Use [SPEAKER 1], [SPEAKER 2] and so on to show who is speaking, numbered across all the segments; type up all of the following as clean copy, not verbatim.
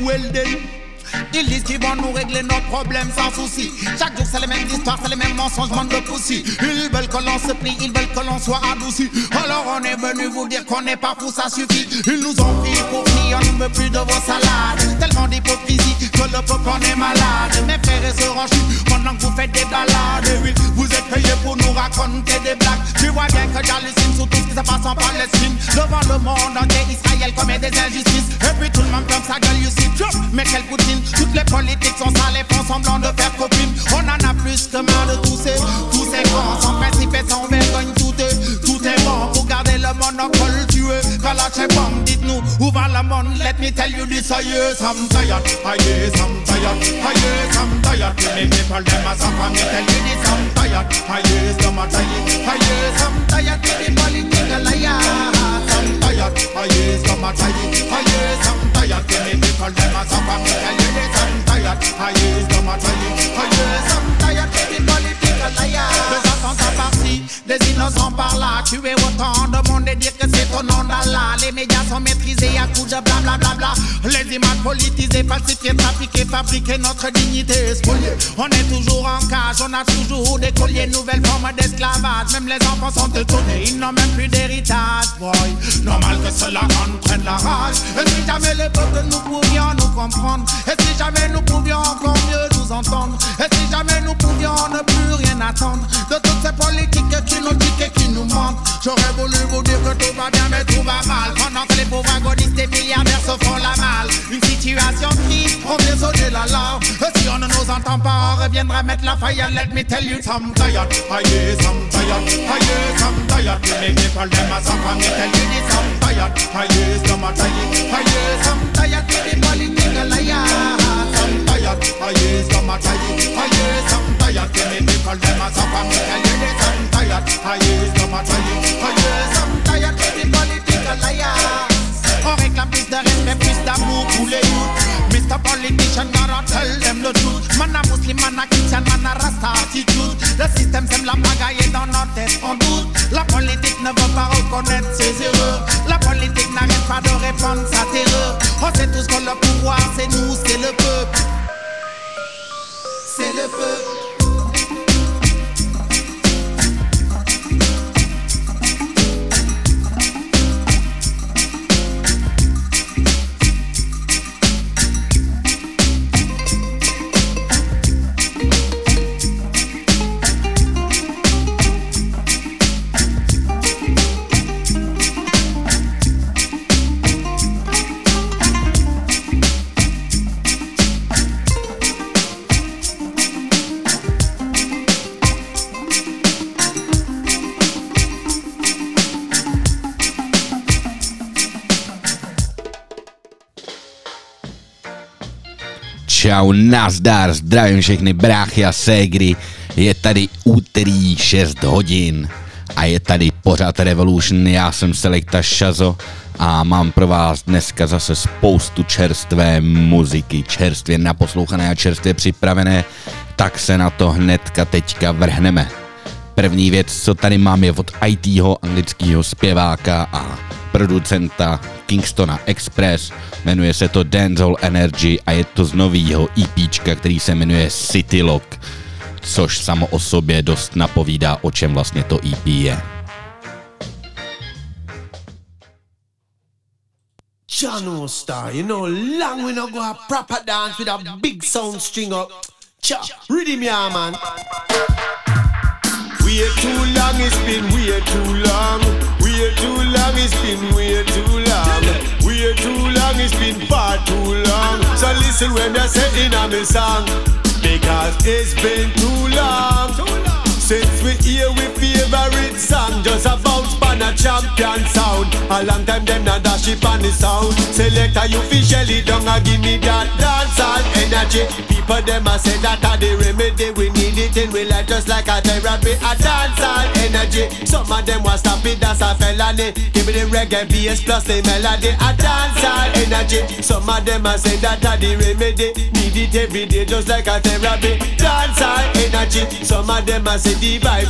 [SPEAKER 1] well then. Ils disent qu'ils vont nous régler nos problèmes sans souci. Chaque jour c'est les mêmes histoires, c'est les mêmes mensonges, monde de poussi. Ils veulent que l'on se plie, ils veulent que l'on soit adouci. Alors on est venu vous dire qu'on n'est pas fou, ça suffit. Ils nous ont pris pour qui, on ne veut plus de vos salades. Tellement d'hypocrisie que le peuple en est malade. Mes frères et sœurs en chute, pendant que vous faites des balades. Et oui, vous êtes payés pour nous raconter des blagues. Tu vois bien que j'hallucine sur tout ce qui se passe en Palestine. Devant le monde entier, Israël commet des injustices. Et puis tout le monde ferme sa gueule, you see. Mais quelle poutine. Toutes les politiques sont sales et font semblant de faire copine. On en a plus que marre de tous ces cons. Sans principe et sans vergogne, tout est bon. Pour garder le monopole, tuer Kalash et bombe. Dites-nous, où va le monde? Let me tell you this, yes, I'm tired. Yes, I'm tired. Yes, I'm tired. Les people, them as a family, tell you this, I'm tired. Yes, them are tired. Yes, I'm tired. The political liars, I'm tired. Yes, them are tired. Yes, I'm tired. Les people, them as a family, tell you this, I'm tired. Yes, them are tired. Yes, I'm tired. The political liars. Des attentats par-ci, des innocents par-là. Tuer autant de monde et dire que c'est au nom d'Allah. Les médias sont maîtrisés à coups de blablabla. Les images politisées, falsifiées, trafiquées, fabriquées, notre dignité spoliée. On est toujours en cage, on a toujours des colliers, nouvelles formes d'esclavage. Même les enfants sont étonnés, ils n'ont même plus d'héritage. Boy, normal que cela en prenne la rage. Et si jamais le peuple nous pouvions nous comprendre, et si jamais nous pouvions encore mieux nous entendre, et si jamais nous pouvions ne plus rien attendre de toutes ces politiques qui nous piquent et qui nous mentent. J'aurais voulu vous dire que tout va bien mais tout va mal. Pendant que les pauvres agonistes et milliardaires se font la malle. Une situation triste, on vient sonner l'alarme. Et si on ne nous entend pas, on reviendra mettre la faille. Let me tell you, I'm tired. Yes, I'm tired. Yes, I'm tired. Les people, them as a family, tell you this, I'm tired. Yes, them are tired. Yes, I'm tired. The political liars, I'm tired. Yes, them are tired. Yes, I'm tired. Les people, them as a family, tell you this, I'm tired. Yes, them are tired. Yes, I'm tired. The political liars. On réclame plus de respect, plus d'amour pour les youths. Mr. Politician, gotta tell them the truth. Man a Muslim, man a Christian, man a Rasta attitude. Le système sème la pagaille et dans notre tête on doute. La politique ne veut pas reconnaître ses erreurs. La politique n'arrête pas de répandre sa terreur. On sait tous que le pouvoir c'est nous, c'est le peuple. C'est le peuple.
[SPEAKER 2] Čau, nazdar, zdravím všechny bráchy a ségry, je tady úterý 6 hodin a je tady pořád Revolution, já jsem Selekta Shazo a mám pro vás dneska zase spoustu čerstvé muziky, čerstvě naposlouchané a čerstvě připravené, tak se na to hnedka teďka vrhneme. První věc, co tady mám, je od ITho, anglického zpěváka a producenta Kingstona Express, jmenuje se to Dancehall Energy a je to z novýho EPčka, který se jmenuje City Lock, což samo o sobě dost napovídá, o čem vlastně to EP je.
[SPEAKER 3] John Star, you know, long we no go a proper dance with a big sound string up. Cha, rhythm ya man. Way too long, it's been way too long. Way too long, it's been way too long. Way too long, it's been far too long. So listen when they're saying on me song, because it's been too long. Since we hear we favorite song, just a bounce pan a champion sound. A long time them not dash it on the sound. Selector you officially don't a give me that dancehall energy. People them a say that a the remedy, we need it in real life just like a therapy. A dancehall energy, some of them want stop it, that's a felony. Give me the reggae bass plus the melody. A dancehall energy, some of them a say that a the remedy, need it every day just like a therapy. Dancehall energy, some of them a say the vibes heavenly.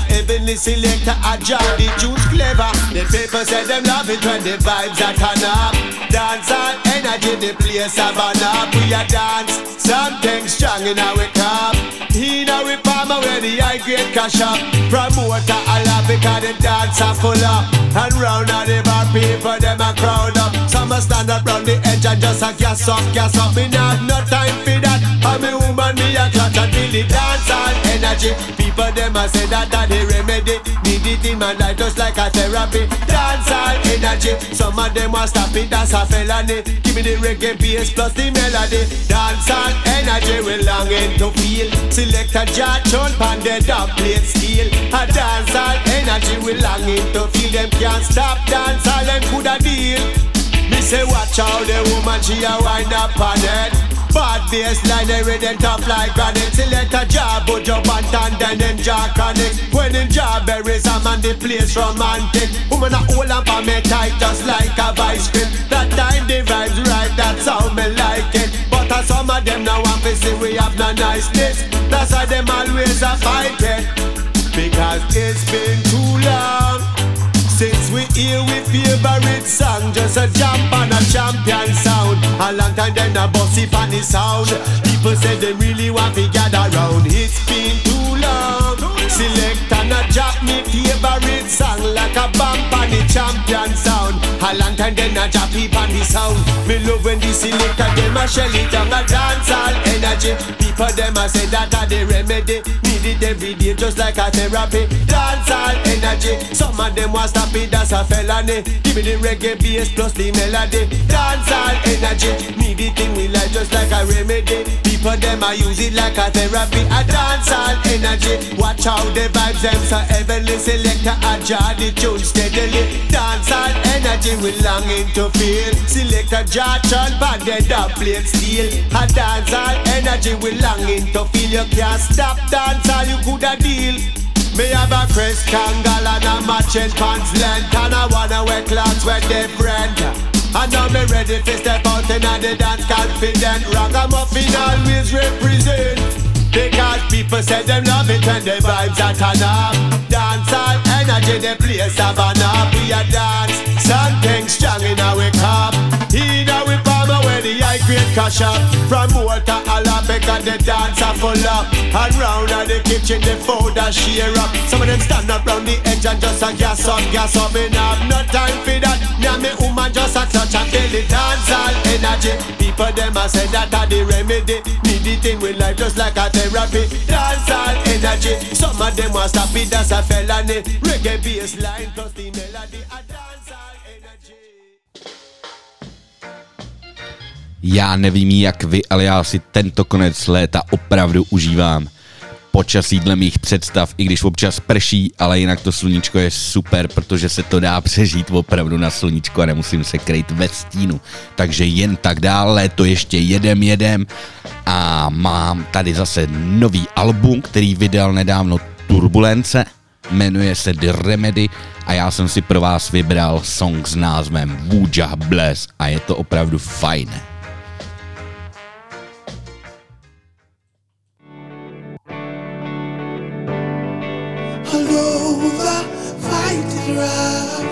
[SPEAKER 3] heavenly selector, a job, the tunes clever. The people say them love it when the vibes are turn up. Dance all energy, the place a burn up. We a dance, something strong in our cup. In our palm where the high grade cash up. Promoter a love because the dance are full up. And round at the bar people them a crowd up. Some a stand up round the edge and just a gas up. Me not have no time for that. I'm a woman, me a clutch and feel the dance all energy. People them a say that the remedy. Need it in my life just like a therapy. Dance all energy. Some of them want stop it, that's a felony. Give me the reggae bass plus the melody. Dance all energy we longing to feel. Select a jar tune pan the dub plate steel. A dance all energy we longing to feel. Them can't stop dance all them coulda deal. Me say watch how the woman she a wind up on it. Bad bassline, they rhythm tough like granite. Select a jar, but jump and then them jar connect. When in jar berries, I'm on the place romantic. Woman a hold up on me tight just like a vice grip. That time the vibes right, that's how me like it. But some of them now want to see we have no niceness. That's why them always a fight it. Because it's been too long since we hear we favorite song. Just a jump and a champion sound. A long time then a bossy funny sound. People say they really want to gather round. It's been too long. Select and a drop me favorite song. Like a bump on the champion sound. A long time then a drop it on the sound. Me love when the selector them a shell it down. A dance all energy. People them a say that a the remedy. Need it every day just like a therapy. Dance all energy. Some of them want stop it, that's a felony. Give me the reggae bass plus the melody. Dance all energy. Need it in we life just like a remedy. People them a use it like a therapy. A dance all energy. Watch how the vibes them so heavenly. Selector a jar the tune steadily. Dance all energy we longing to feel. Selector jar tune pan the dub plate steel. A dance all energy we longing to feel. You can't stop dance all you coulda deal. Me have a crest kangal and a matching pants length. And I wanna wear clothes with different. And now me ready to step out in the dance confident. Ragamuffin always represent. Because people say them love it when the vibes are turn up. Dance all energy, the place a burn up. We a dance, something strong in our cup. In our palm where the high grade cash up. From water all up because the dance are full up. And round at the kitchen the food a share up. Some of them stand up round the edge and just a gas up. Me not have no time for that. Me and me woman just a clutch and feel the dance all energy. People them a say that a the remedy. Need it in with life just like a therapy. Dance all energy. Some of them want stop it, that's a felony. Reggae bass line plus the melody. A dance all energy.
[SPEAKER 2] Já nevím jak vy, ale já si tento konec léta opravdu užívám. Počasí dle mých představ, i když občas prší, ale jinak to sluníčko je super, protože se to dá přežít opravdu na sluníčko a nemusím se krejt ve stínu. Takže jen tak dál, léto ještě jedem a mám tady zase nový album, který vydal nedávno Turbulence, jmenuje se The Remedy a já jsem si pro vás vybral song s názvem Wujah Bless a je to opravdu fajn.
[SPEAKER 4] Although the fight is rough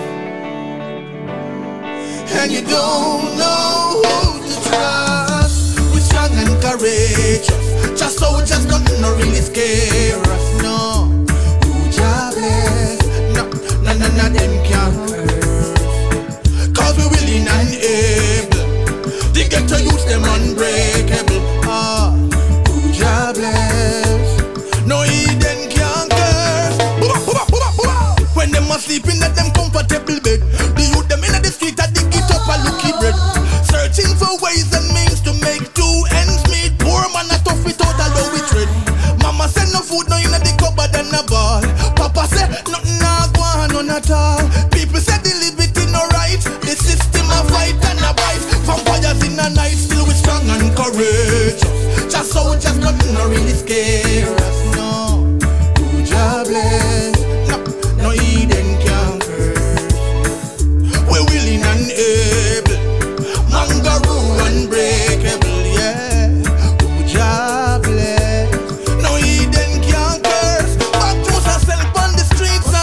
[SPEAKER 4] and you don't know who to trust, we're strong and courageous. Just soldiers, nothing no really scare us. No, who jobless? No, none of them can curse. 'Cause we're willing and able to get to use them unbreakable. Who jobless? No, Eden can't curse. When them are sleeping at them comfortable bed, the youth them in the street at dig it up a looky bread. Searching for ways and means to make two ends meet. Poor man a tough without a low with tread. Mama said no food no in the cupboard and a ball. Papa said nothing a go on none at all. People said the liberty no right. The system a fight and a bite. Vampires in the night still we strong and courageous. Just soldiers nothing no really scare us. No, who jobless? No Eden can curse. We're willing and able. Mangaroo unbreakable, yeah. Who jobless? No Eden can curse. Back to ourselves on the streets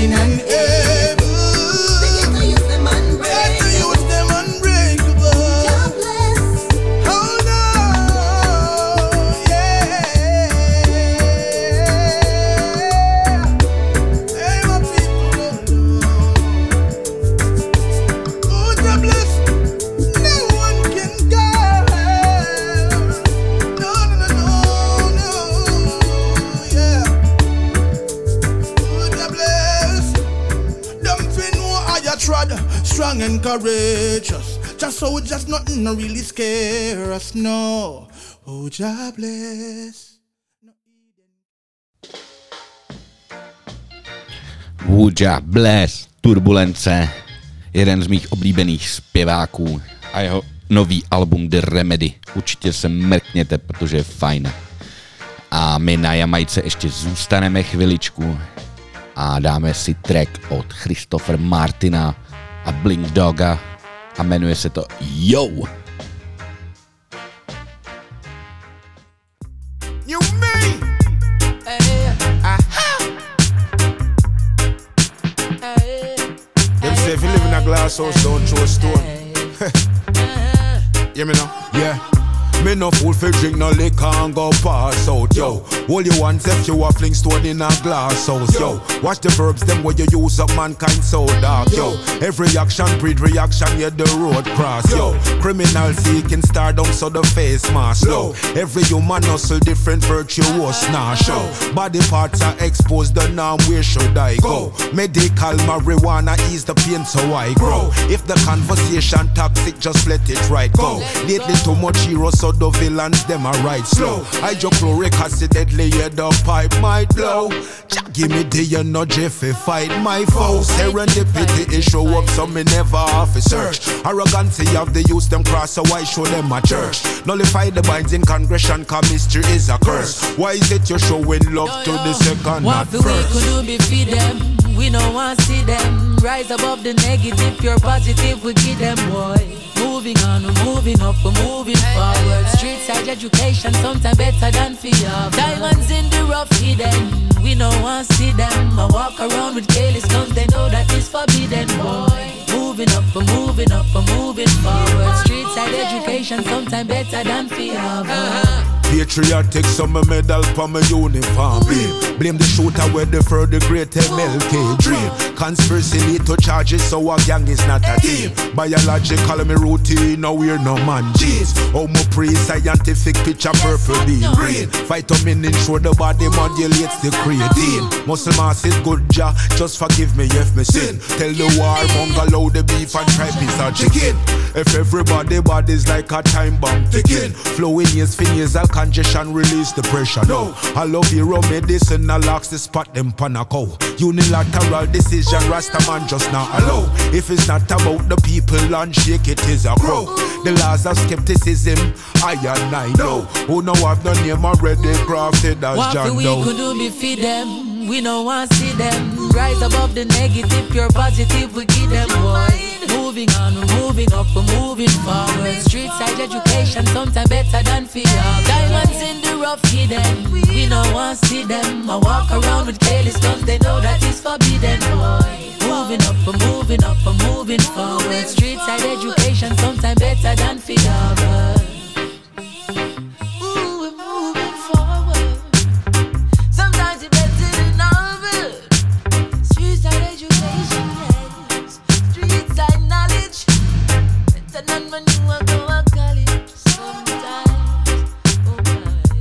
[SPEAKER 4] willing and able. To use them unbreakable. Hold on, yeah. Hey, my people, oh, God bless. No one can guide. No, yeah. Oh, God bless. Them fin know how you trod, strong and courageous. Just so just nothing no really scare us, no. Oh, God bless.
[SPEAKER 2] Wooja Bless, Turbulence, jeden z mých oblíbených zpěváků a jeho nový album The Remedy. Určitě se mrkněte, protože je fajn. A my na Jamajce ještě zůstaneme chviličku a dáme si track od Christopher Martina a Blink Doga a jmenuje se to Yo!
[SPEAKER 3] You mean? Them say if you live in a glass house, don't throw a stone. Hear me now? Yeah. Me no fool fi drink no liquor and go pass out, yo. All you want if you a fling stone in a glass house, yo. Watch the verbs, them where you use up mankind so dark, yo. Every action breed reaction, yeah, the road cross, yo. Criminal seeking stardom, so the face mask, low. Every human hustle, different virtuous, nah, show. Body parts are exposed, the norm, where should I go? Medical marijuana ease the pain, so I grow. If the conversation toxic, just let it right go. Lately too much heroes, so the villains, them are right slow. Hydrochloric acid, deadly, yeah, the pipe might blow. Give me the energy fi fight my foes. Serendipity is show up, so me never off a search. Arrogancy of the youth, them cross, so I show them a church. Nullify the binds in congression, cause mystery is a curse. Why is it you're showing love to the second, not first?
[SPEAKER 5] What we could do be feed them, we don't want to see them. Rise above the negative, pure positive, we give them, boy. Moving on, we're moving up, we're moving forward. Street side education, sometimes better than fear. Diamonds in the rough hidden, we don't want to see them. I walk around with careless guns, they know that it's forbidden, boy. Moving up, we're moving up, we're moving forward. Street side education, sometimes better than fear.
[SPEAKER 3] Patriotic, some medal for my uniform. Blame the shooter where the further great MLK dream. Conspiracy lead to charges, so a gang is not a team. Biological me routine, now we're no man jeans. Oh, my pre-scientific picture purple, being green. Vitamin ensure the body modulates the creatine. Muscle mass is good, ja, just forgive me if me sin. Tell the war, bungalow the beef and try piece of chicken. If everybody body's like a time bomb ticking. Flowing is nasal congestion, release the pressure. No, I love hero medicine, I locks the spot them panaco. Unilateral decision, Rastaman just not allow. If it's not about the people and shake it is a crow. The laws of skepticism, I and I know. Who know I've no name already crafted as John Doe.
[SPEAKER 5] What we could do be feed them, we don't want to see them. Rise above the negative, pure positive, we give them, boy. Moving on, we're moving up, we're moving forward. Street side education, sometimes better than fear. Diamonds in the rough hidden, we don't want to see them. I walk around with careless guns, they know that it's forbidden, boy. Moving up, we're moving up, we're moving forward. Street side education, sometimes better than fear. Ooh, we're moving forward. Sometimes it's better than novel. Street side education, yes. Street side knowledge. Better than when you go to college. Sometimes, oh my.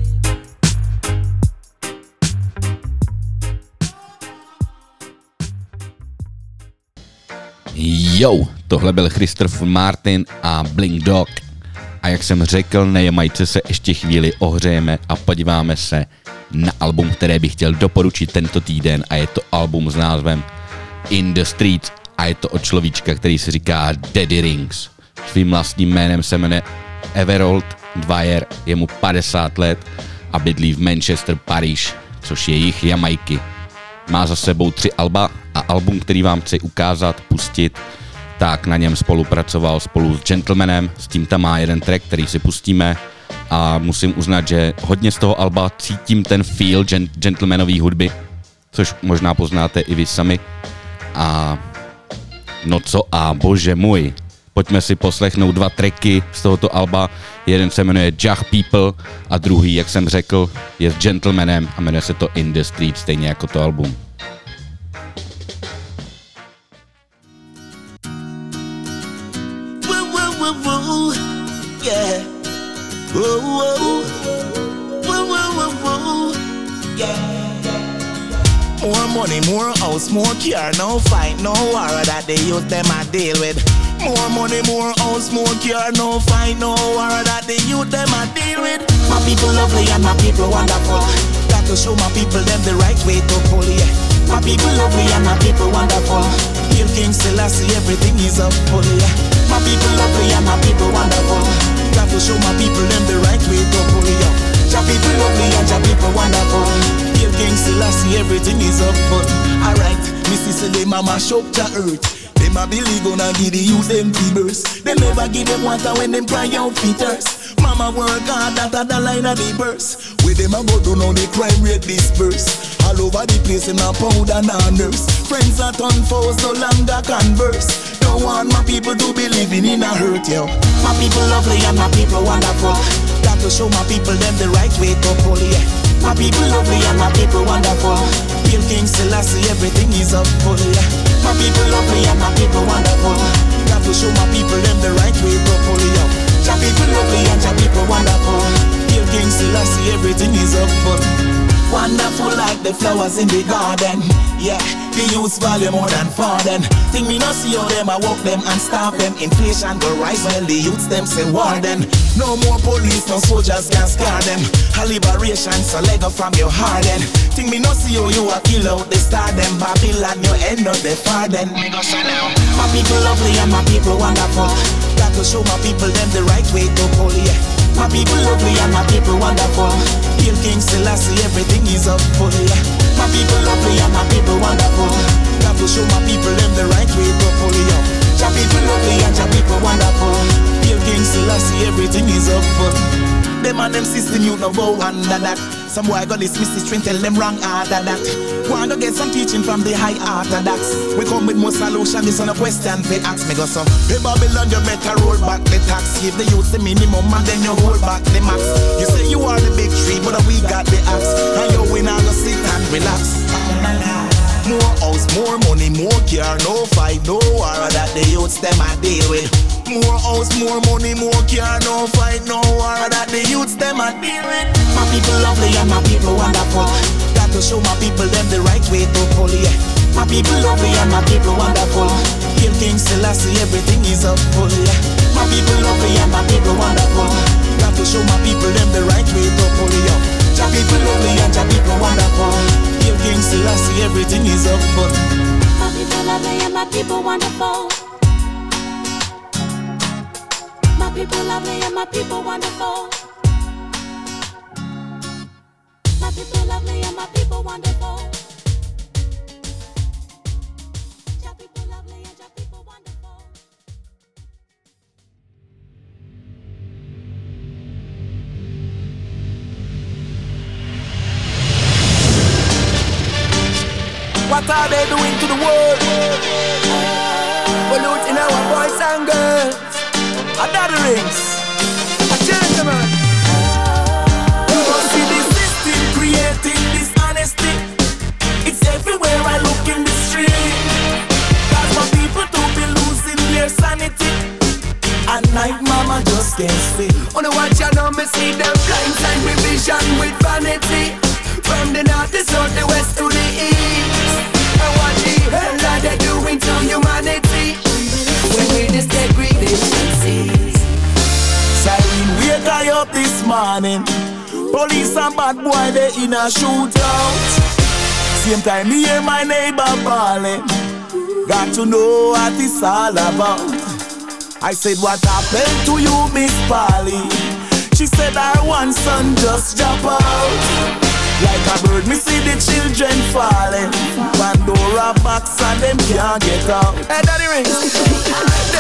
[SPEAKER 2] Yo, tohle byl Christopher Martin a Blink Dog. A jak jsem řekl, na Jamajce se ještě chvíli ohřejeme a podíváme se na album, které bych chtěl doporučit tento týden, a je to album s názvem In the Streets a je to od človíčka, který se říká Daddy Rings. Svým vlastním jménem se jmenuje Everold Dwyer, je mu 50 let a bydlí v Manchester, Paříž, což je jih Jamajky. Má za sebou 3 alba a album, který vám chci ukázat, pustit, tak na něm spolupracoval spolu s Gentlemanem, s tím tam má jeden track, který si pustíme, a musím uznat, že hodně z toho alba cítím ten feel Gentlemanový hudby, což možná poznáte i vy sami. A no co a, bože můj. Pojďme si poslechnout 2 tracky z tohoto alba. Jeden se jmenuje Jah People a druhý, jak jsem řekl, je s Gentlemanem a jmenuje se to In The Street, stejně jako to album.
[SPEAKER 4] Yeah. More money, more house, more car, no fight, no war that they use them I deal with. More money, more house, more car, no fight, no war that they use them I deal with. My people lovely and my people wonderful. Got to show my people them the right way to pull, yeah. My people lovely and my people wonderful. Hail King Selassie, everything is up full, yeah. My people lovely and my people wonderful. Got to show my people them the right way to pull, yeah. Jah people lovely and Jah people wonderful. Hail King Selassie, everything is up full. Alright, Missy say they mama shop to earth. Them a believe gonna give the youth them fevers. They never give them water when them cry out feeders. Mama work hard, that a line of the burst. Where them a go do now the crime rate disperse. All over the place them a pound and a nurse. Friends that turn foes no longer converse. Don't want my people to be living in a hurt, yo. My people lovely and my people wonderful. Got to show my people them the right way to pull, yeah. My people lovely and my people wonderful. Hail King Selassie, everything is up full, yeah. My people lovely and my people wonderful. Got to show my people them the right way to pull, yeah. Jah people lovely and Jah people wonderful. Hail King Selassie, everything is up full. Wonderful like the flowers in the garden. Yeah, the youths value more than foreign. Think me not see how them I walk them and stop them. Inflation go rise when the youths them say warden. No more police, no soldiers can scare them. A liberation so leg up from your harden. Think me not see how you a kill out the star them. Babylon you end up the farden. Me go say now. My people lovely and my people wonderful. Got to show my people them the right way to pull, yeah. My people lovely and my people wonderful. Hail King Selassie, everything is up full, yeah. My people lovely and my people wonderful. Got to show my people them the right way to pull, yeah. Jah people lovely and Jah people wonderful. Hail King Selassie, everything is up full. Them and them system you know go under that. Some boy go dismiss the string, tell them wrong after that. Wanna get some teaching from the high orthodox. We come with more solution, this on a question they ask me go some. Hey Babylon, you better roll back the tax. Give the youth the minimum and then you hold back the max. You say you are the big tree, but we got the axe. And you win all the sit and relax. More house, more money, more car, no fight, no war that the youths them I deal with. More house, more money, more car, no fight, no war that the youths them I deal with. My people lovely and my people wonderful. Got to show my people them the right way to pull, yeah. My people lovely and my people wonderful. Hail King Selassie, everything is up full, yeah. My people lovely and my people wonderful. Got to show my people them the right way to pull, yeah. Jah people lovely and Jah people wonderful. Hail King Selassie, everything is up full.
[SPEAKER 6] My people lovely and my people wonderful. My people lovely and my people wonderful. My people lovely and my people wonderful. Jah people lovely and Jah people wonderful.
[SPEAKER 4] What are they doing to the world? Polluting our boys and girls. Another rings. A gentleman. You don't see the system creating dishonesty. It's everywhere I look in the street. Cause my people don't be losing their sanity. At night mama just can't sleep. On the watch I know me see them blindside me vision with vanity. From the north, the south, the west to the east. And what the hell are they doing to humanity? When we this degradation cease. Siren wake I up this morning. Police and bad boy they in a shootout. Same time me hear my neighbor bawling. Got to know what it's all about. I said what happened to you Miss Polly? She said our one son just jump out. Like a bird, me see the children falling. Pandora box and them can't get out. Hey, Daddy Rings. Them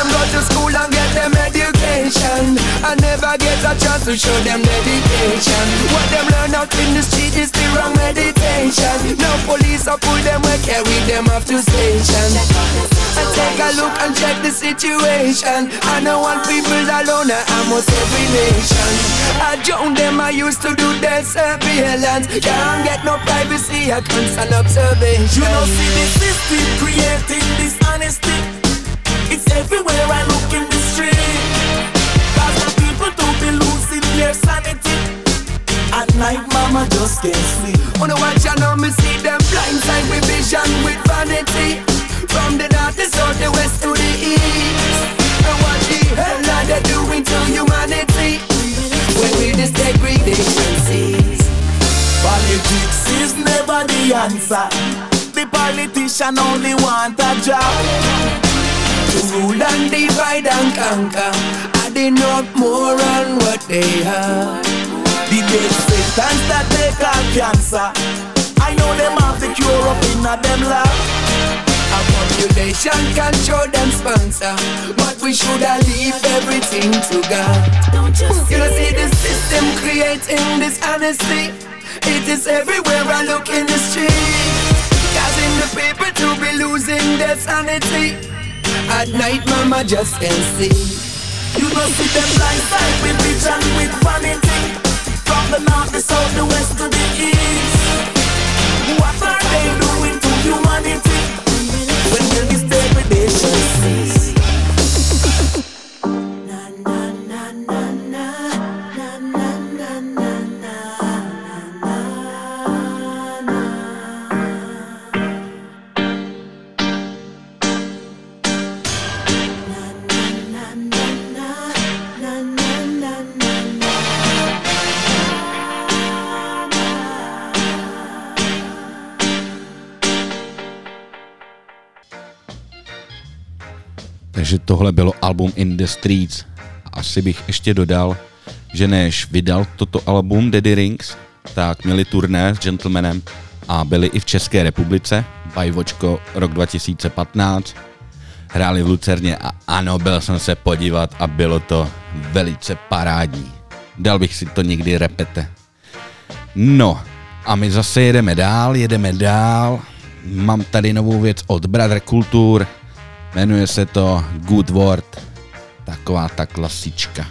[SPEAKER 7] them go to school and get them education, and never get a chance to show them dedication. What them learn out in the street is the wrong meditation. No police will pull them and carry them off to station. And take a look and check the situation. I know one people alone, almost every nation. I joined them, I used to do their surveillance. Can't get no privacy, I constant observation.
[SPEAKER 8] You know, see the system creating dishonesty. It's everywhere I look in the street. Cause the people to be losing their sanity. At night, mama just can't sleep.
[SPEAKER 7] On the watch, I know me see them blindside with vision, with vanity. From the north, the south, the west to the east. And what the hell are they doing to humanity? When we this degradation cease.
[SPEAKER 8] Politics is never the answer. The politician only want a job.
[SPEAKER 7] To rule and divide and conquer. Are they not more on what they have?
[SPEAKER 8] The death sentence that they call cancer, I know them have the cure up in a them lab.
[SPEAKER 7] A population control them sponsor, but we shoulda leave everything to God. You know, see the system creating dishonesty. It is everywhere I look in the street, causing the people to be losing their sanity. At night, mama just can't see.
[SPEAKER 8] You know, see them blindside with vision, with vanity. From the north, the south, the west to the east. What are they doing to humanity? When will this degradation cease? Na na na na na na na na na
[SPEAKER 2] Takže tohle bylo album In the Streets. Asi bych ještě dodal, že než vydal toto album Daddy Rings, tak měli turné s Gentlemanem a byli i v České republice, Bajvočko rok 2015. Hráli v Lucerně a ano, byl jsem se podívat a bylo to velice parádní. Dal bych si to někdy repete. No a my zase jedeme dál. Mám tady novou věc od Brother Culture. Jmenuje se to Good Word, taková ta klasička.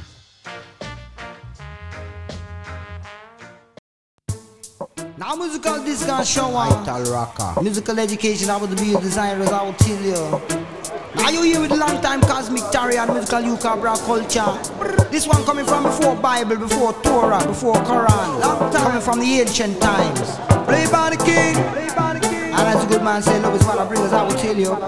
[SPEAKER 9] Now musical disc and show Vital rocker. Musical education, I would be a designer, as I will tell you. Now you here with the long time Cosmic Terry and musical Yucabra culture. This one coming from before Bible, before Torah, before Quran. Long time coming from the ancient times. Play by the king, and as a good man say, love is what I bring, as I will tell you.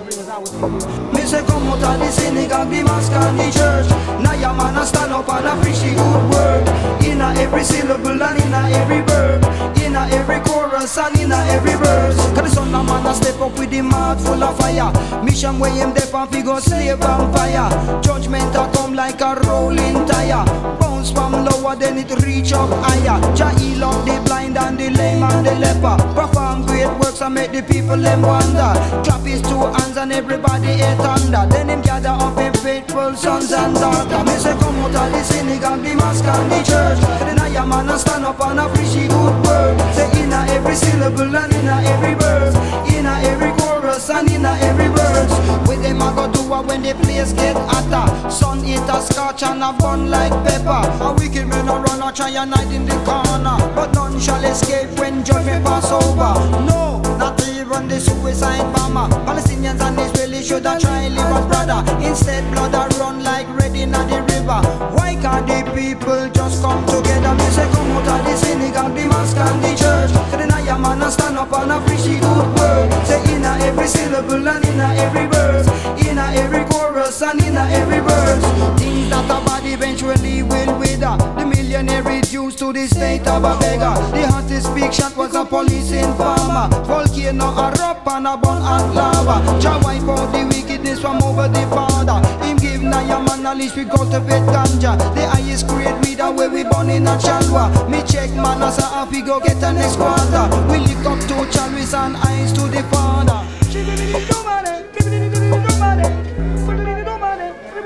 [SPEAKER 9] Me say come out of the synagogue, the mosque and the church. Now your man a stand up and a preach the good word. Inna every syllable and inna every verb, inna every chorus and inna every verse. Cause the son of man a step up with the mouth full of fire. Mission where him dep and figure slave vampire. Judgment a come like a rolling tire. Bounce from lower then it reach up higher. Jah heal up the blind and the lame and the leper. Perform great works and make the people them wonder. Clap his two hands and everybody hate under. Then him gather up him faithful sons and daughters. Me say come out of the synagogue, the mosque and the church. Then I am man a stand up and a preach the good word. Say inna every syllable and inna every verse, inna every chorus and inna every verse. With them I go do when the place get hotter. Sun eat a scotch and a bun like pepper. A wicked man a run a try and hide in the corner, but none shall escape when judgment pass over. No, not even the suicide bomber. Palestinians and Israelis should have tried live as brother. Instead blood a run like red in the river. Why can't the people just come together? Me say come out of the synagogue, the mosque and the church. So then I am man a stand up and a preach the good word. Say inna every syllable and inna every verse, inna every chorus and inna every verse. Things that a body eventually will wither. The millionaire reduced to the state of a beggar. The hottest big shot was a police informer. Volcano erupt and a burn hot lava. Jah wipe out the wickedness from over the border. Him give Naya man a leash we cultivate ganja. The highest grade weed where we born in a chalwa. Me check man as a happy go get a next quarter. We lick up to chalice and eyes to the father.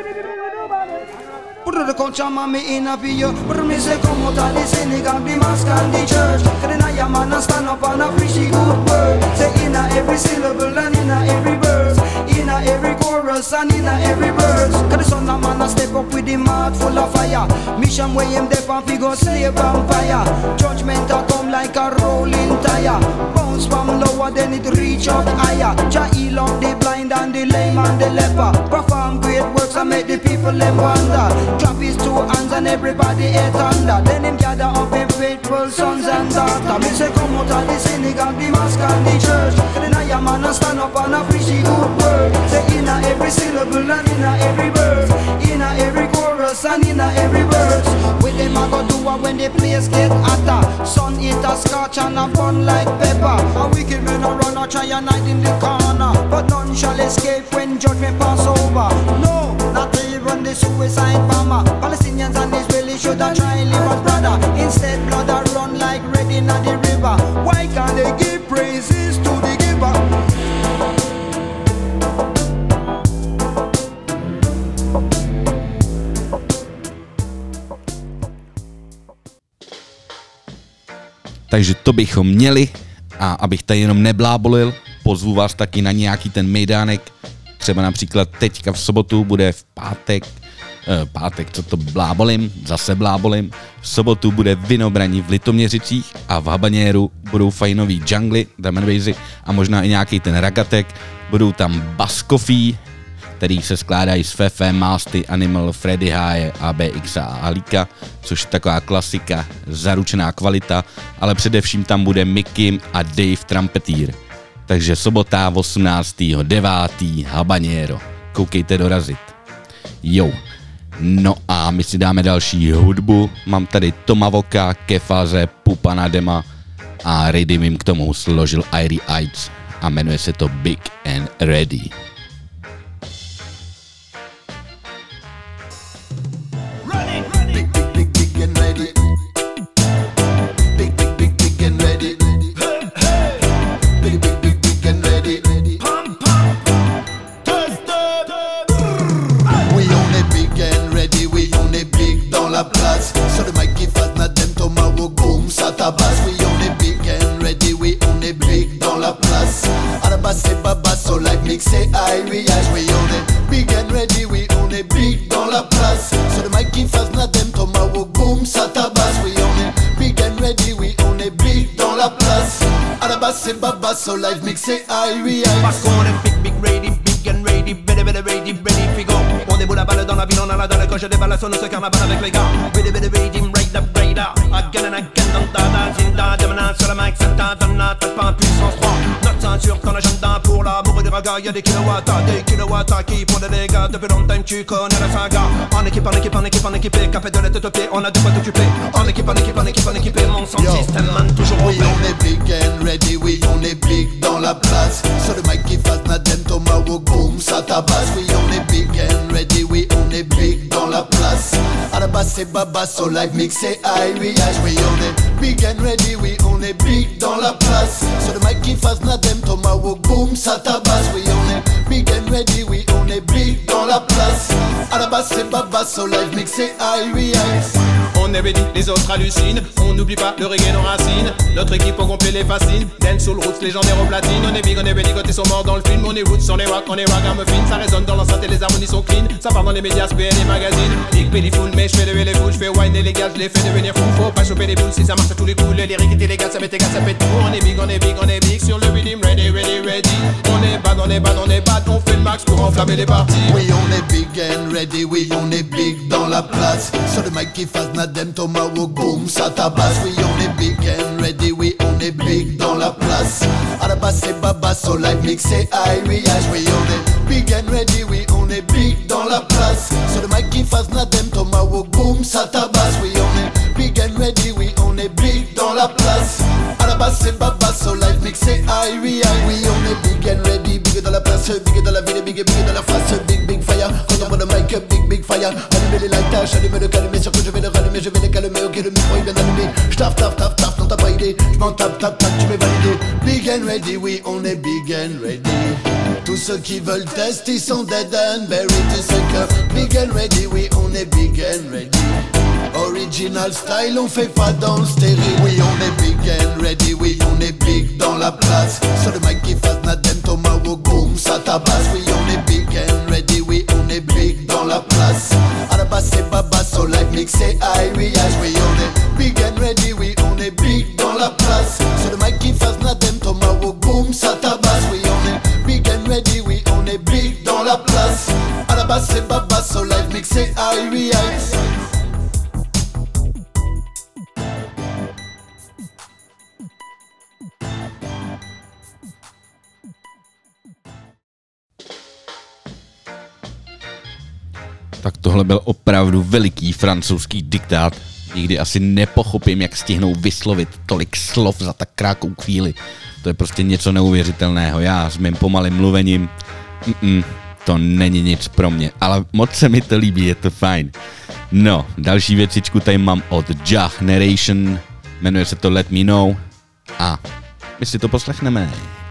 [SPEAKER 9] the culture, man, me in a you. But me say come out of the synagogue, the mosque and the church. Cause then I am man and stand up and a preach the good word. Say in a every syllable and in a every verse, in a every chorus and in a every verse. Cause the son of man a step up with the mouth full of fire. Mission where him dep and fi go slave vampire. Judgment a come like a rolling tire. Bounce from lower then it reach up higher. Jah heal up the blind and the lame and the leper. Perform great works and make the people them wonder. Clap his two hands and everybody head under. Then him gather up him faithful sons and daughters. Me say come out of the synagogue, the mosque and the church. Then I am man and stand up and a preach the good word. Say in a every syllable and in a every verse, in a every chorus and in a every verse. With them I go do it when the place get hotter. Sun eat a scotch and a fun like pepper. A wicked men a run a try and hide in the corner, but none shall escape when judgment pass over. No, not even the suicide bomber. Palestinians and Israelis should have tried live as brother. Instead blood a run like red in the river. Why can't they give praises to the giver?
[SPEAKER 2] Takže to bychom měli, a abych tady jenom neblábolil, pozvu vás taky na nějaký ten mejdánek, třeba například teďka v sobotu bude v pátek, co to blábolím, zase blábolím, v sobotu bude Vinobraní v Litoměřicích a v Habaněru budou fajnový jungly, drum and bassy a možná i nějaký ten ragatek, budou tam Bass Coffee, který se skládají z Fefe, Másty, Animal, Freddy Háje, ABX a Alíka, což je taková klasika, zaručená kvalita, ale především tam bude Mikim a Dave Trumpetýr. Takže sobota 18.9. Habanero. Koukejte dorazit. Jo. No a my si dáme další hudbu. Mám tady Toma Voka, Kefaze, Pupana Dema a Ready jim k tomu složil Irie Ides a jmenuje se to Big and Ready.
[SPEAKER 4] So the mic give us not them tomorrow boom satabas. We only big and ready, we only big dans la place. Arabas c'est baba, so like mix say Irish. We only big and ready, we only big dans la place. So the mic give us not them tomorrow boom satabas. We only big and ready, we only big dans la place. Arabas c'est baba, so like mix say Irish.
[SPEAKER 10] Parce qu'on est big ready, big and ready, ready figo. On déboule la balle dans la ville, on a la dalle quand je déballe la sonne, ce carnaval avec les gars. Ready, right up, again and again, dans ta danse, Zinda, Demana, sur la mic, Santa, Dana, tape pas en puissance 3. Notre ceinture, ton agenda pour l'amour du raga, y'a des kilowatts qui font des dégâts. Depuis longtemps, tu connais la saga. En équipe, café de la tête aux pieds, on a de quoi t'occuper. En équipe, mon son système, man, toujours au
[SPEAKER 4] We only big and ready, we only big dans la place. So the mic give us not them tomorrow boom satabas. We only big and ready, we only big dans la place. Arabas c'est baba, so like mix say Irish. We only big and ready, we only big dans la place. So the mic give us not them tomorrow boom satabas. We only big and ready, we only big dans la place. Arabas c'est baba, so like mix say Irish.
[SPEAKER 10] On est ready, les autres hallucinent. On n'oublie pas le reggae, nos racines. Notre équipe au complet les fascine. Dance soul roots, légendaire au platine. On est big, on est ready, côté sont morts dans le film. On est roots sur les rocks, on est ragamuffin. Ça résonne dans l'enceinte et les harmonies sont clean. Ça part dans les médias, PN et magazines. Big belly full, mais j'fais lever les foules. J'fais wine et les gars, j'les fais devenir fou. Faut pas choper les boules si ça marche à tous les coups. Les lyriques étaient légales, ça m'est égal, ça pète tout. On est big, on est big, on est big. Sur le rhythm, ready. On est bad, on est bad. On fait le max pour enflammer les parties.
[SPEAKER 4] We only big and ready, we only big dans la place. So the mic give us not them tomorrow boom satabas. We only big and ready, we only big dans la place. Arabas c'est baba, so like mix say Irish. We only big and ready, we only big dans la place. So the mic give us not them tomorrow boom satabas. We only big and ready, we only big dans la place. Arabas c'est baba, so like mix say Irish. We only big and ready, big dans la place, big dans la ville, big dans la face, big fire. Quand on voit le mic, big fire. Allumer les lights, allumer le calmer, surtout je vais le rallumer, je vais les calmer. Ok, le micro est bien allumé. J'taf, non t'as pas idée. J'm'en tape, tu m'es validé. Big and ready, we only big and ready. Tout
[SPEAKER 3] Tous ceux qui veulent tester, ils sont dead and buried. Tu sais que big and ready, oui on est big and ready. Original style, on fait pas dans le stérile. Oui on est big and ready, oui on est big dans la place. Sur le mic qui fasse Nadem, Tomahawk, boom, ça tabasse. Oui on est big and ready, oui on est big dans la place. À la base c'est Baba, so live mix c'est Irias. Oui on est big and ready, oui on est big dans la place. Sur le mic qui fasse Nadem, Tomahawk, boom, ça tabasse. Oui on est big and ready, oui on est big dans la place. À la base c'est Baba, so live mix c'est Irias.
[SPEAKER 2] Tak tohle byl opravdu veliký francouzský diktát. Nikdy asi nepochopím, jak stihnou vyslovit tolik slov za tak krátkou chvíli. To je prostě něco neuvěřitelného. Já s mým pomalým mluvením, to není nic pro mě, ale moc se mi to líbí, je to fajn. No, další věcičku tady mám od Jah Narration, jmenuje se to Let Me Know a my si to poslechneme.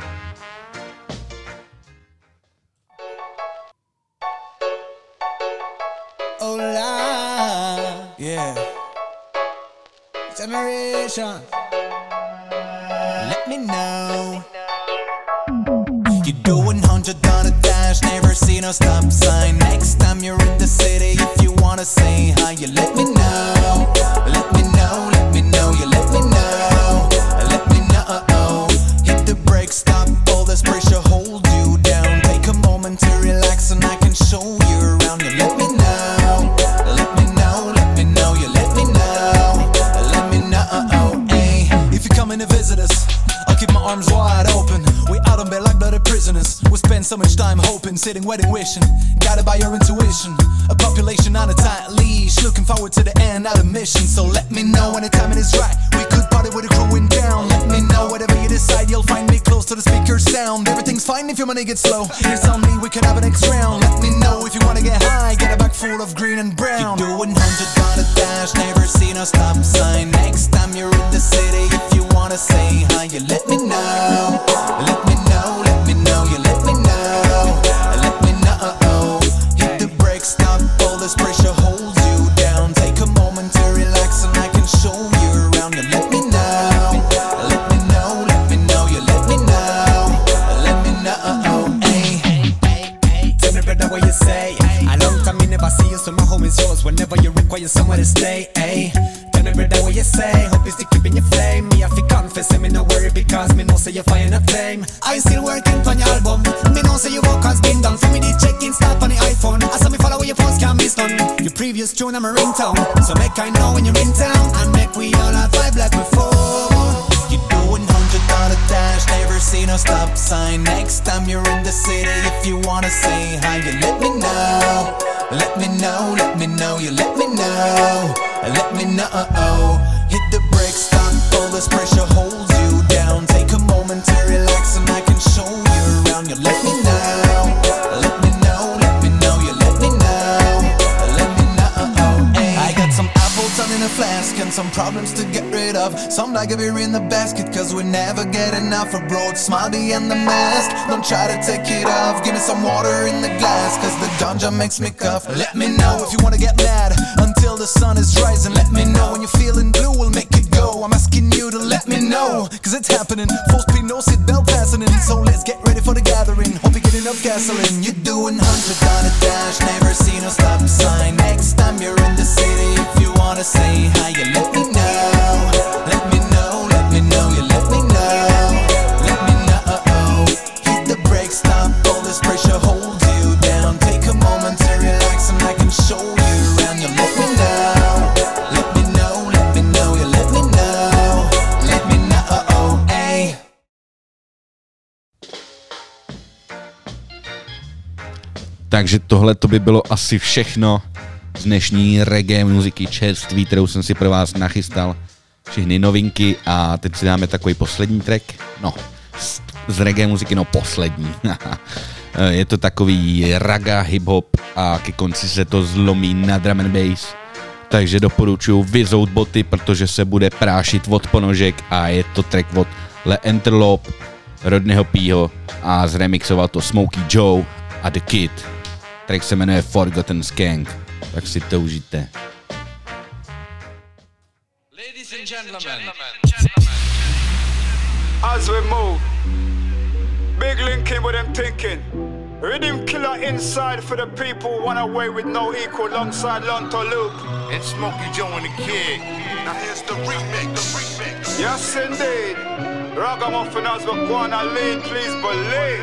[SPEAKER 4] Generation, let me know. You're doing 100 on a dash, never seen no stop sign. Next time you're in the city, if you wanna say hi, you let me know. Let me know, let me know, you let me know. Let me know. Hit the brake, stop all this pressure, hold you down. Take a moment to relax and I can show you around. You let me know. Let me know, let me know, you let me know. If you're coming to visit us, I'll keep my arms wide open. We out on bed like bloody prisoners. We spend so much time hoping, sitting, waiting, wishing. Guided by your intuition. A population on a tight leash, looking forward to the end of the mission. So let me know when the timing is right. We could party with the crew in town. Let me know whatever you decide. You'll find me close to the speaker sound. Everything's fine if your money gets slow. You tell me we can have an next round. Let me know if you wanna get high. Get a bag full of green and brown. You're doing 100 on a dash, never seen a stop sign. Next time you're in the city, if you wanna say hi, you let me know. Let me know, let me know, you let me know. Let me know. Hit the brake, stop all this pressure, hold you down. Take a moment to relax and I can show you around. You let me know. Let me know, let me know, you let me know. Let me know. Hey. Tell me brother what you say. A long time me never see you, so my home is yours whenever you require somewhere to stay. Hey. Tell me brother what you say. Hope you still keeping your flame. Me have to confess, me no worry because me know say you fire not tame. I still working on your album. Me know say your work has been done. For me the check-in start on the iPhone. I saw me follow your post can't be done. Your previous tune I'm a ringtone. So make I know when you're in town and make we all have vibe like before. You doing 100 on a dash, never seen no stop sign. Next time you're in the city, if you wanna say hi, you let me know. Let me know, let me know, you let me know. Let me know. Hit the brake, stop all this pressure, hold you down. Take a moment to relax and I can show you around. You let me know. Let me know, let me know, you let me know. Let me know. Ay. I got some apple tongue in a flask and some problems to get rid of. Some like a beer in the basket cause we never get enough. A broad smile behind the mask, don't try to take it off. Give me some water in the glass cause the ganja makes me cough. Let me know if you wanna get mad until the sun is rising. Let me know when you're feeling blue, we'll make it go. I'm asking you to let me know cause it's happening. Full speed, no seatbelt fastening. So let's get ready for the gathering. Hope you get enough gasoline. You're doing 100 on a dash, never seen no stop sign. Next time you're in the city, if you wanna say hi, you let me know. Let me know, let me know, you let me know. Let me know. Hit the brake, stop all this pressure, hold you down. Take a moment to relax and I can show you around. You let me know. Let me know, let me know, you let me know. Let me know, ay.
[SPEAKER 2] Takže tohle to by bylo asi všechno z dnešní reggae muziky čerství, kterou jsem si pro vás nachystal. Všechny novinky a teď si dáme takový poslední track. No, z reggae muziky, no poslední. Je to takový raga, hip-hop a ke konci se to zlomí na drum and bass. Takže doporučuji vyzout boty, protože se bude prášit od ponožek a je to track od Le Interlope Rodneyho Pího a zremixoval to Smokey Joe a The Kid. Track se jmenuje Forgotten Skank, tak si to užijte.
[SPEAKER 11] Ladies and gentlemen.
[SPEAKER 12] As we move, big linking with them thinking. Rhythm killer inside for the people who want away with no equal alongside Lonto Luke
[SPEAKER 11] and Smokey Joe and the Kid. Now here's the remix.
[SPEAKER 12] Yes indeed. Ragamuffin as we go on a lead, please believe.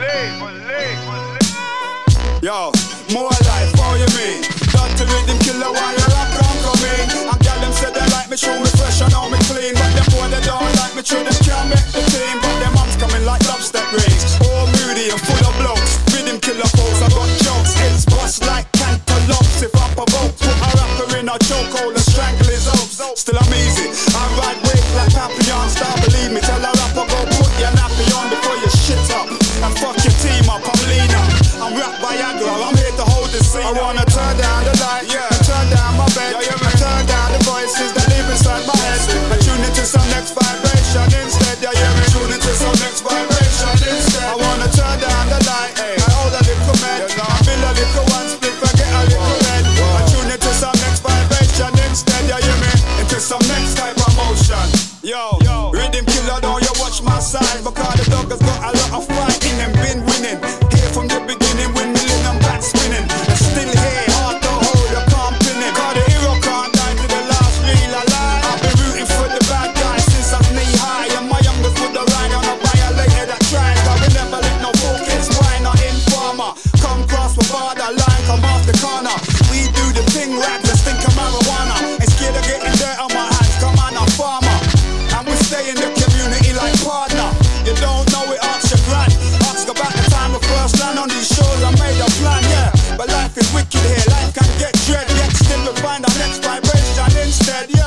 [SPEAKER 12] Yo, more life, how you mean? Dirty rhythm killer while you rock and come in. And girl them say they like me, show me fresh and how me clean. But them boy they don't like me, true them can't make the team. But them arms coming like dubstep rings. Oh moody and full of blokes. Rhythm killer folks, I got jokes. Hits bust like cantaloupes. If I provoke, put a rapper in a chokehold and strangle his hopes. Still I'm easy, I ride wave like Papillon. Star believe me, tell a rapper go put your nappy on before you shit up. And fuck your team up, I'm leaner. I'm rap Viagra, I'm here to hold the scene. I wanna turn down the light, yeah, turn down my bed, yeah, I turn down the voices that live inside my head. I tune into some next vibration instead, yeah, me tune into some next vibration instead. I wanna turn down the light, I hold a little man, I build a little one split, I get a little red. I tune into some next vibration instead, yeah, me into some next type of motion. Yo, rhythm killer, don't you watch my side, because the dog has got a lot of fight in them, been winning. Here from the beginning, windmilling and back spinning. And still here, hard to hold, I can't pin it. Cause the hero can't die to the last real alive. I've been rooting for the bad guys since I was knee high. And my youngest would have ride on a violator that tried. Cause we never let no focus, why not informer? Come cross my borderline, come off the corner. We do the thing right, just think of marijuana. Ain't scared of getting dirt on my hands, come on, I'm farmer. And we stay in the community like partner. You don't know it, ask your grand. Ask about the time of first land on these shows, I made a plan, yeah. But life is wicked here, life can get dread. Yet still we find our next vibration instead, yo.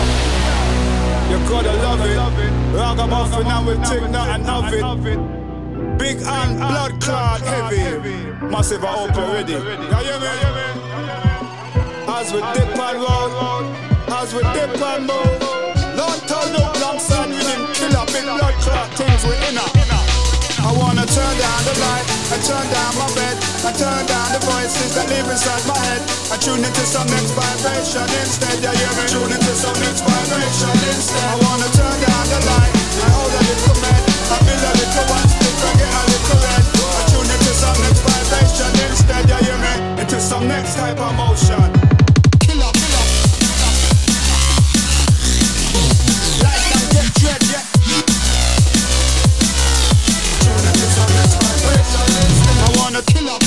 [SPEAKER 12] You gotta love it. Ragamuffin and we take nothing of it. Big and blood clot heavy. Massive, I hope you're ready. Yeah, you me? As we dip and roll, as we dip and move. Don't turn up alongside with him killer, big blood clot things we inner. I wanna turn down the light, I turn down my bed, I turn down the voices that live inside my head. I tune into some next vibration instead, yeah, me tune into some next vibration instead. I wanna turn down the light, I hold a little man, I build a little one stick, I get a little red. I tune into some next vibration instead, yeah, me into some next type of motion. Dread, yeah. I wanna kill up.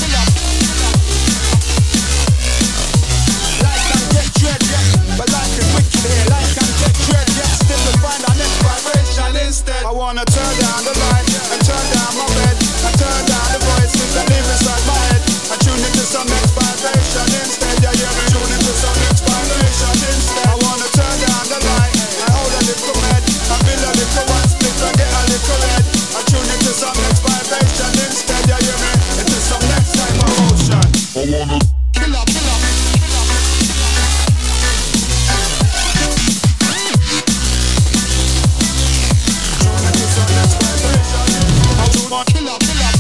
[SPEAKER 12] Life can get dread, yeah. But life is wicked here. Life can get dread, yeah. Still we find our next vibration instead. I wanna turn down the light, I turn down my bed, I turn down the voices that live inside my head. I tune into some next vibration instead, yeah, me tune into some next vibration instead. I wanna turn down the light, I hold a little head, I build a little one split, I get a little red. I tune into some next vibration instead, yeah, me into some next type of motion. I wanna kill up. Kill up.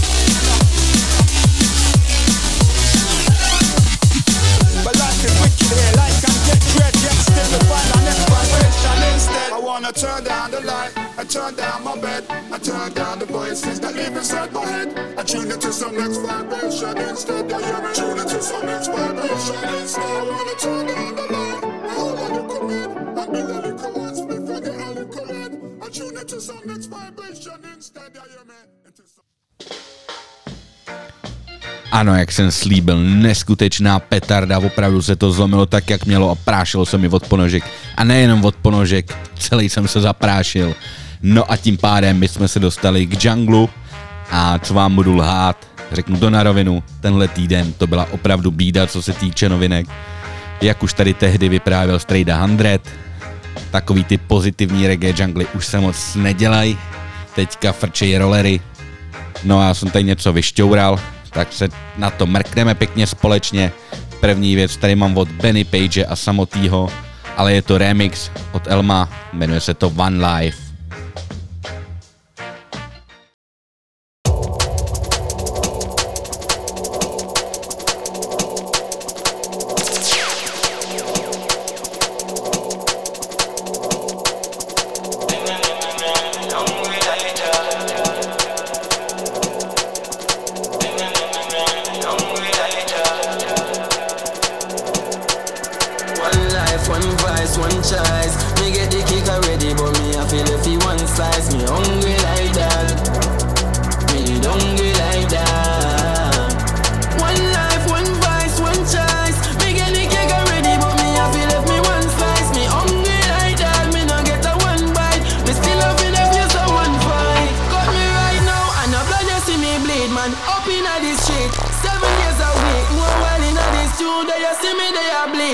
[SPEAKER 12] But life is wicked here, life can get dread, yet still we find our next vibration instead. I wanna turn down the light, I turn down my bed, I turn down the voices that live inside my head. I tune into some next vibration instead, yeah, you me tune into some next vibration instead. I wanna turn down the light, I hold a little man, I build a little one split, I get a little red. I tune into some next vibration instead, yeah, you me into some...
[SPEAKER 2] Ano, jak jsem slíbil, neskutečná petarda, opravdu se to zlomilo tak, jak mělo a prášilo se mi od ponožek. A nejenom od ponožek, celý jsem se zaprášil. No a tím pádem my jsme se dostali k junglu a co vám budu lhát, řeknu to na rovinu, tenhle týden to byla opravdu bída, co se týče novinek. Jak už tady tehdy vyprávěl Strejda 100, takový ty pozitivní reggae jungly už se moc nedělají, teďka frčejí rollery. No a já jsem tady něco vyšťoural, tak se na to mrkneme pěkně společně. První věc tady mám od Benny Page a samotýho, ale je to remix od Elma, jmenuje se to One Life.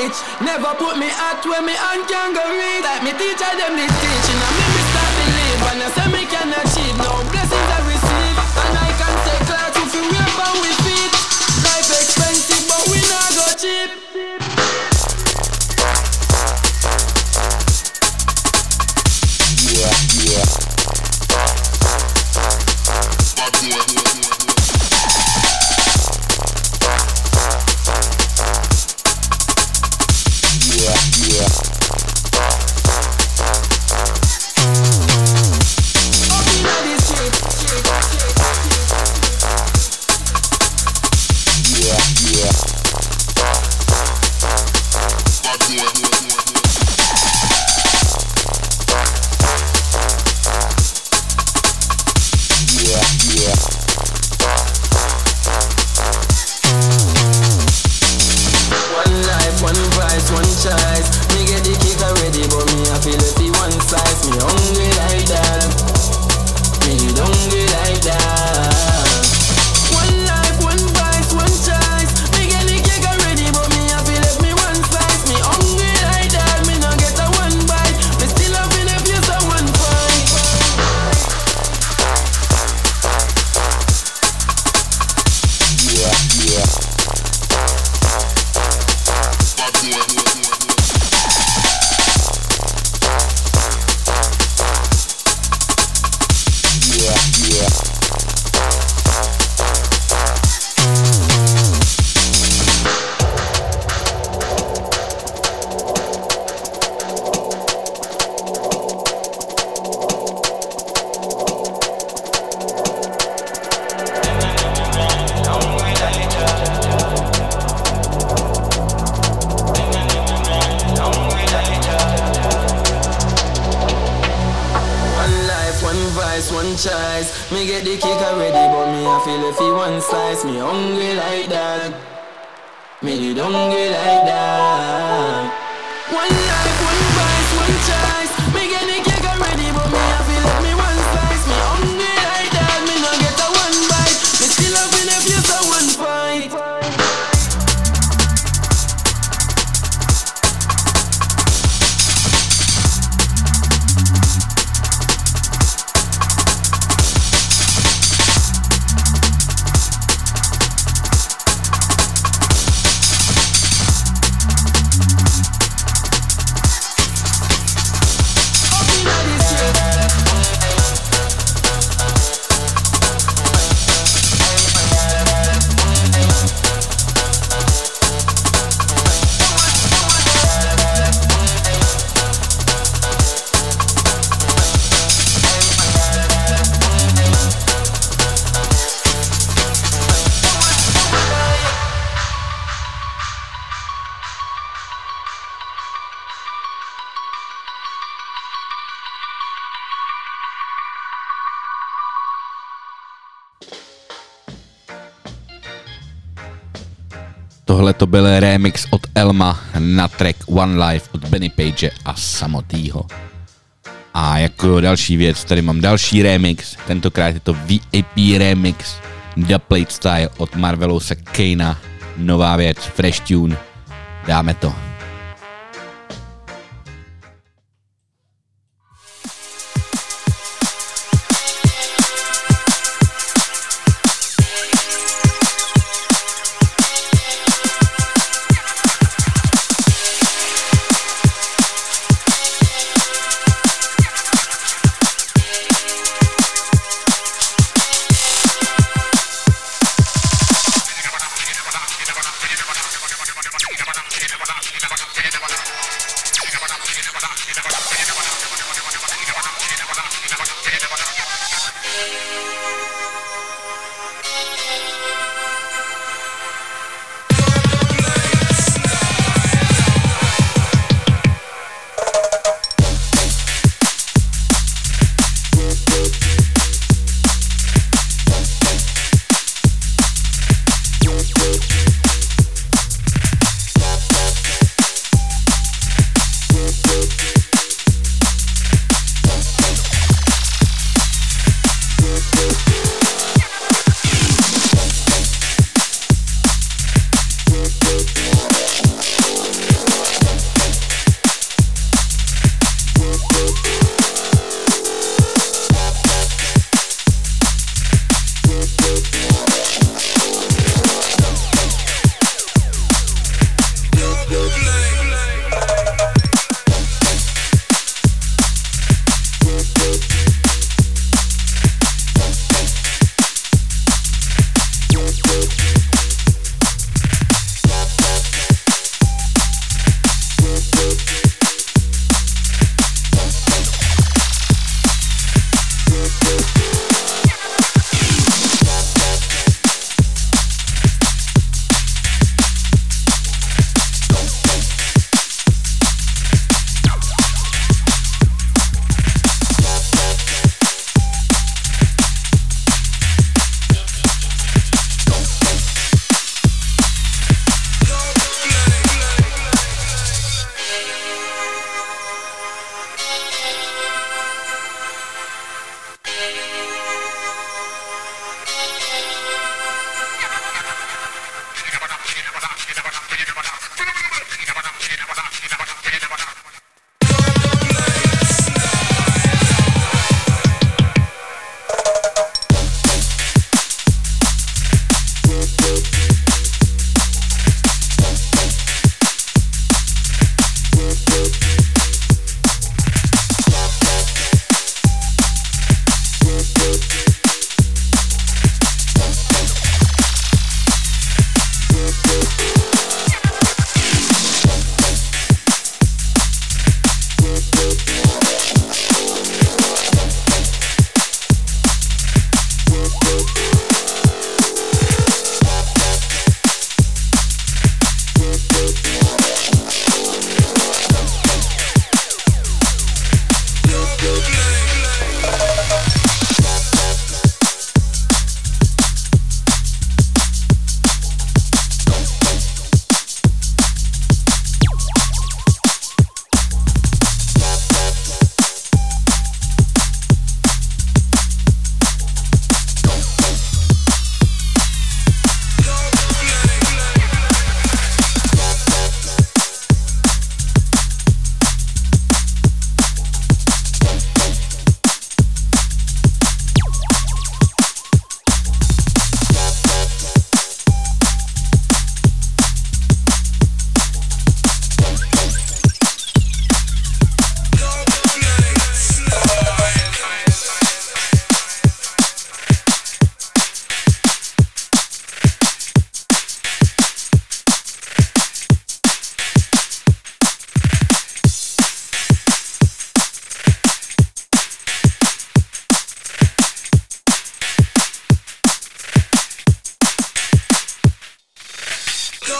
[SPEAKER 7] reach. Never put me out where me hand can go reach. Like me teacher them did teaching, and me start believe. And I say me can achieve, no blessings I receive. And I can take class if you wear on with feet. Life expensive, but we not go cheap. Me get the kick already, but me I feel if he one slice. Me hungry like that. Me hungry like that. One life, one price, one choice. Me get the kick already, but me I feel if me one slice. Me hungry like that. Me no get a one bite. Me still up in a place of one fight.
[SPEAKER 2] Tohle to byl remix od Elma na track One Life od Benny Page a samotýho. A jako další věc, tady mám další remix, tentokrát je to VIP remix The Plate Style od Marvelousa Kejna, nová věc, fresh tune, dáme to.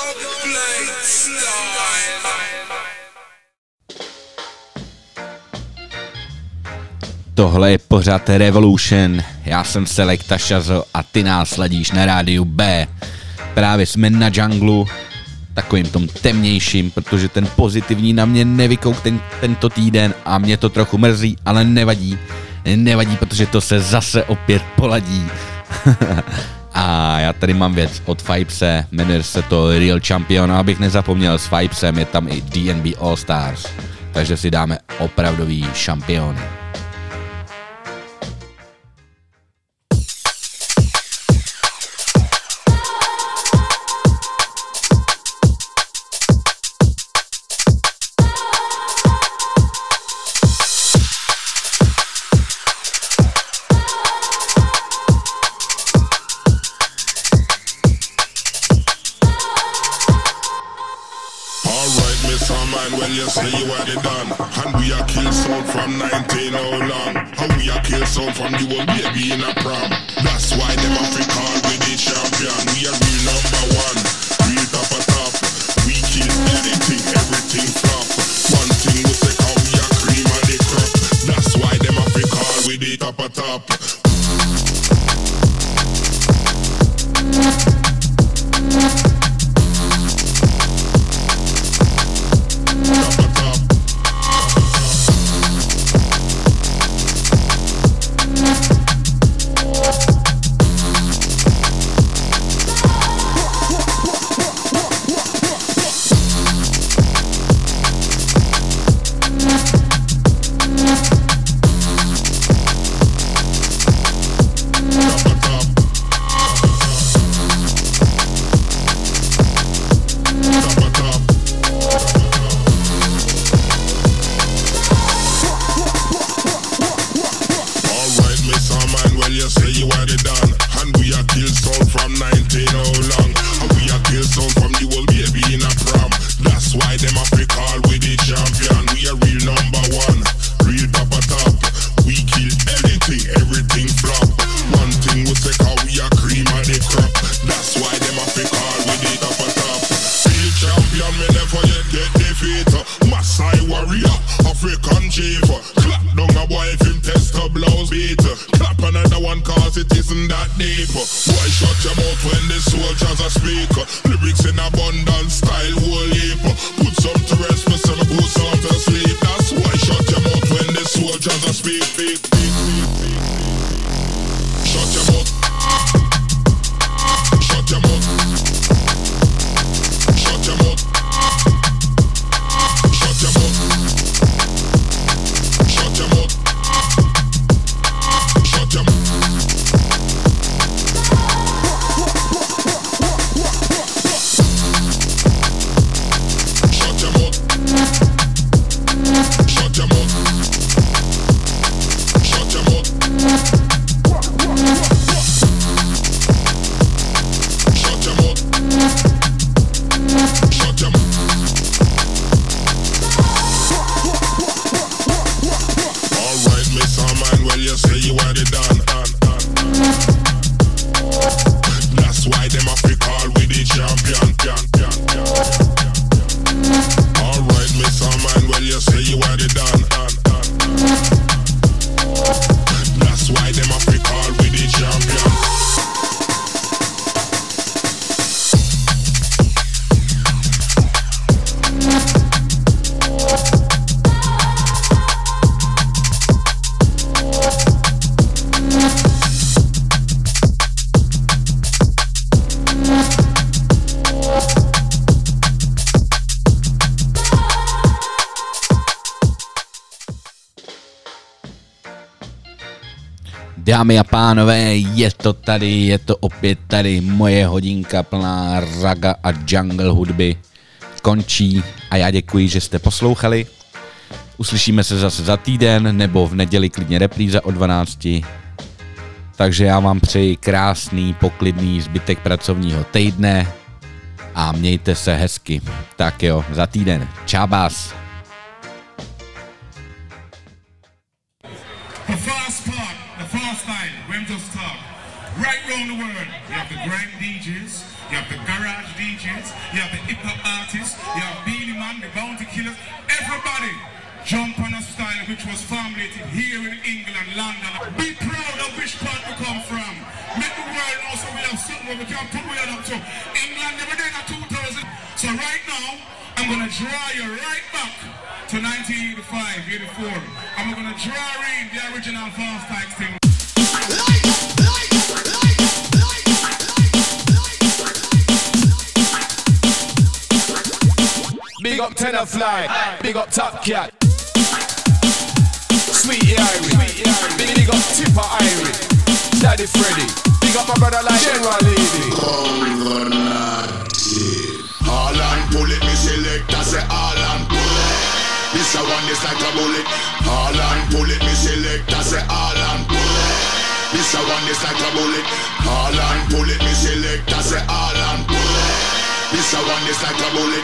[SPEAKER 2] Tohle je pořád Revolution, já jsem Selecta Shazo a ty nás sledíš na rádiu B. Právě jsme na junglu, takovým tom temnějším, protože ten pozitivní na mě nevykouk tento týden a mě to trochu mrzí, ale nevadí. Nevadí, protože to se zase opět poladí. A já tady mám věc od Vibese, jmenuje se to Real Champion, a abych nezapomněl, s Vibesem je tam i DNB All Stars, takže si dáme opravdový šampiony.
[SPEAKER 13] Say you are the done, and we are kill sound from 19 how long, and we are kill sound from the old baby in a prom. That's why them Africa with the champion. We are real number one, real top of top. We kill anything, everything flop. One thing we say how we are cream of the crop. That's why them Africa with the top of top.
[SPEAKER 2] Dámy a pánové, je to tady, je to opět tady, moje hodinka plná raga a jungle hudby končí a já děkuji, že jste poslouchali. Uslyšíme se zase za týden nebo v neděli klidně repríza o 12. Takže já vám přeji krásný, poklidný zbytek pracovního týdne a mějte se hezky. Tak jo, za týden. Čabás.
[SPEAKER 14] The fast part, the fast line, when to start. Right round the world, you have the grind DJs, you have the garage DJs, you have the hip-hop artists, you have Beenie Man, the Bounty Killers, everybody jump on a style which was formulated here in England, London. Be proud of which part we come from. Make the world know so we have something where we can put we up to. England never did a 2000. So right now, I'm going to draw you right back to 1985, 84. I'm going to draw in the original Fast Types thing.
[SPEAKER 10] Big up Tenafly, big up Top Cat, Sweetie Irie, big up Tipper Irie, Daddy Freddy, big up my brother like General Lady.
[SPEAKER 13] All and pull it, me select, I say all and pull it. This a one is like a bullet. All and pull it, me select, I say all and pull it. This a one is like a bullet. All and pull it, me select, I say all and pull it. This a one is like a bullet.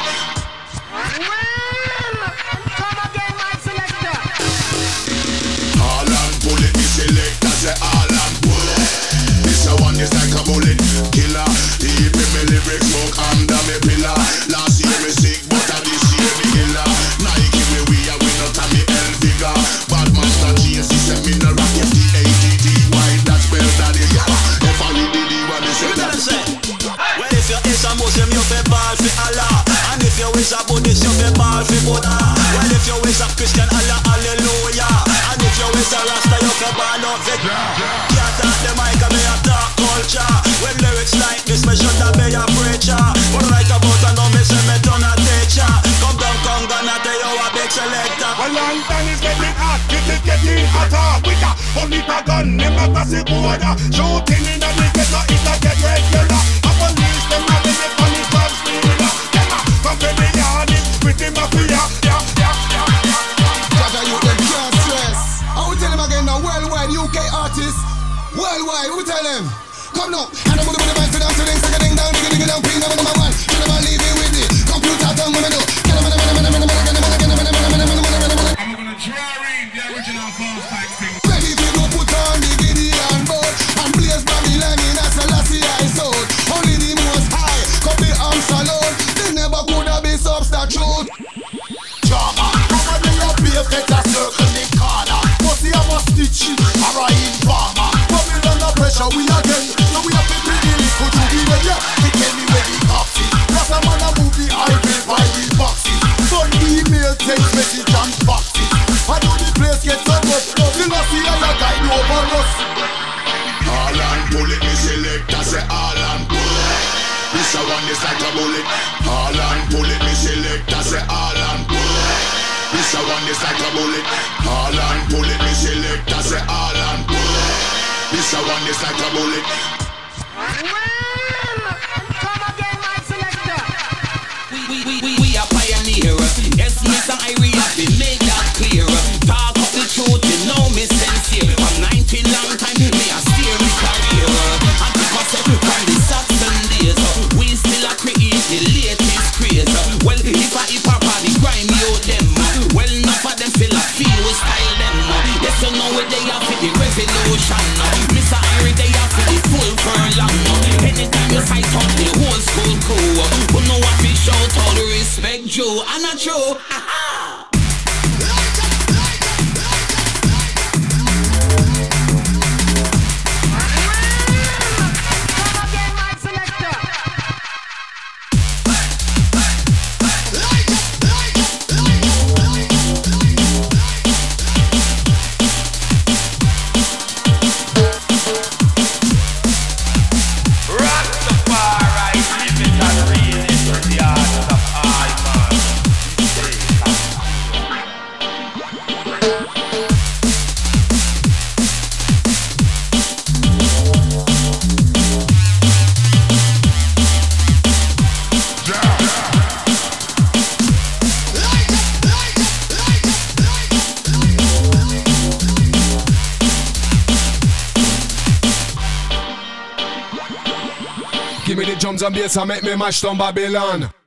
[SPEAKER 15] Come again, my selector.
[SPEAKER 13] All and pull it, me select, I say all and pull it. This a one is like a bullet. Killer, he me lyrics smoke under me pillar. Last year me sick, but this year me killer. Nike we are we not a me L figure. Bad master GS, he said me no rock your D-A-D-D. Why that spell daddy? If I read the one, he said that.
[SPEAKER 8] Well, if you is a Muslim, you fi ball fi Allah. And if you is a Buddhist, you fi ball fi Buddha. Well, if you is a Christian, Allah, hallelujah. And if you is a Rasta, you fi ball out fi can't talk the mic and me a talk culture. When lyrics like this, me should have be a preacher. But right about I know me say me turn a teacher. Come down, gonna tell you a big selector.
[SPEAKER 12] Well, London is getting hot, it is getting hotter. With a only a gun, them not a see border. Shooting in the ghetto, it a get regular. A police, them not in the funny club stealer. Them a come to the yard, with the mafia.
[SPEAKER 16] Jaja, you them can't stress. I will tell them again now, worldwide UK artists. Worldwide, we tell them. Come now, and I'm gonna put the mic to down, so ding down, digga down, ping number one. You never leave it with it. Computer done, what I do.
[SPEAKER 14] I'm gonna draw in the original Fast Types thing.
[SPEAKER 16] Ready to go put on the Gideon boat and blaze Babylon in a Selassie I sold. Only the most high could be arms alone. They never could have been substitute.
[SPEAKER 12] Drama, come on, they up here, get a circle in corner. Pussy, I must stitch it, or I informer. Babylon no pressure, we again. So we have to be really good to be there, yeah. They tell me where the cops is. Plus I'm on a movie, I will buy the boxes. Son email, text message and boxes. I know the place gets so much love. You know see how you guide over us.
[SPEAKER 13] All and pull it, me select, I say all and pull it. This a one is like a bullet. All and pull it, me select, I say all and pull it. This a one is like a bullet. All and pull it, me select, I say all and pull it. This a one is like a bullet.
[SPEAKER 15] Come again, my selector.
[SPEAKER 5] We are pioneer. Yes, Mr. Irie, have been make that clear. Talk of the truth, you know me sincere. From 19 long time, me a steer me career. And because from the Saxon days, we still a create the latest craze. Well, if I party grime you them, well, enough of them still a feel we style them. Yes, you know where they are for the revolution. Mr. Irie, they are for the full furlong. Anytime you fight out the whole school crew, who know what we shout all the respect Joe, and not true.
[SPEAKER 10] Give me the drums and bass and make me mash down Babylon.